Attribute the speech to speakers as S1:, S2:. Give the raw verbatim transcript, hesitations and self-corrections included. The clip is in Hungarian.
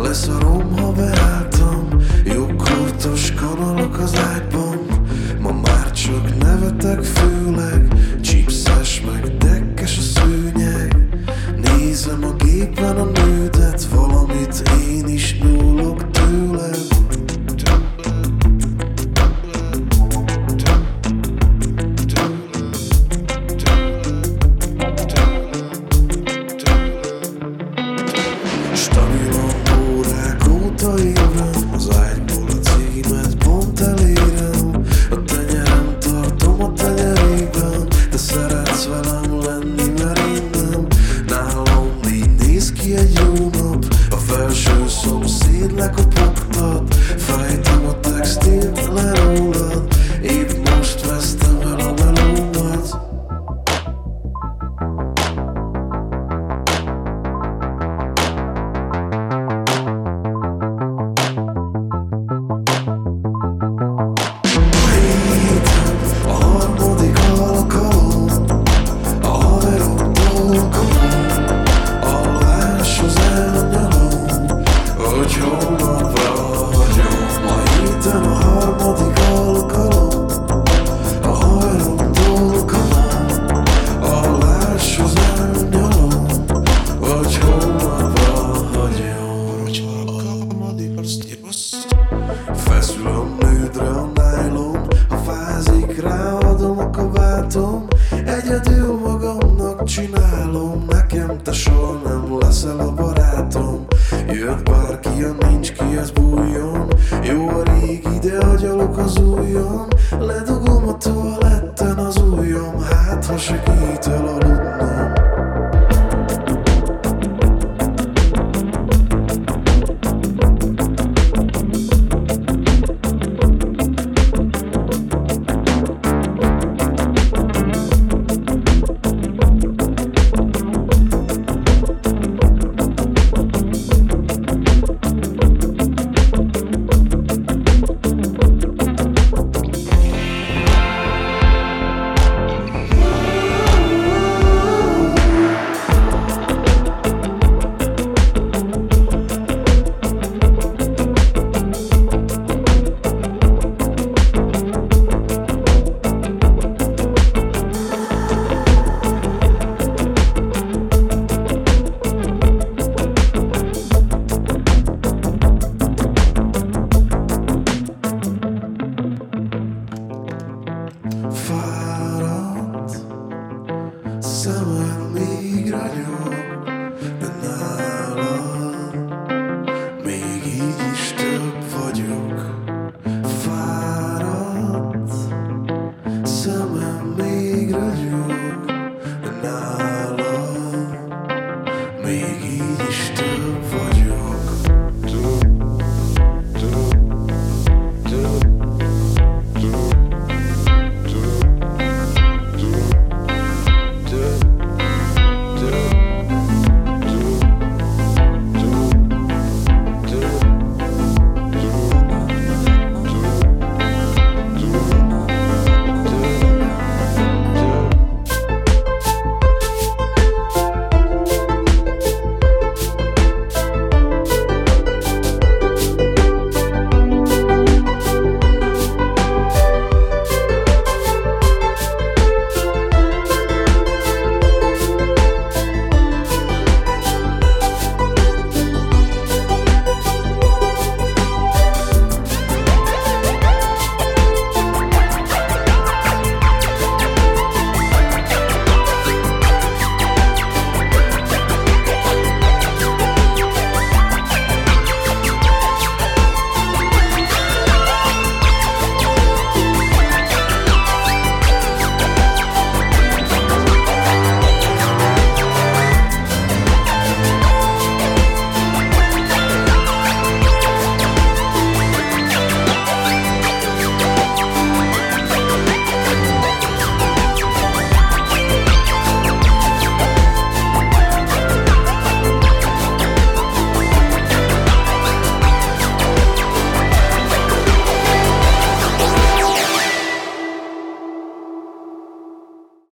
S1: Leszarom, ha beálltam, jogkortos kanalok az ágyban. Ma már csak nevetek, főleg csipszes meg dekkes a szőnyeg. Nézem a gépen a nődet, valamit én is nyúlok tőled. Stabilan órák óta élem, az ágyból a címet pont elérem. A tenyerem tartom a tenyerében, de szeretsz velem lenni, mert én nem. Nálam így néz ki egy jó nap, a felső szomszéd lekopogtat. Fejtem a textilt le rólad, épp most vesztem el a melómat. A harmadik alkalom, a haveroktól kapom, alváshoz elnyalom, hogy holnapra hagyom. Ma héten a harmadik alkalom, a haveroktól kapom, alváshoz elnyalom, hogy holnapra hagyom. Feszül a nődre a nájlon, ha fázik, ráadom a kabátom. Egyedül magamnak csinálom, nekem te soha nem leszel a barátom. Jött bárki, jön, nincs ki, az bújjon. Jó a régi, de agyalok az újon.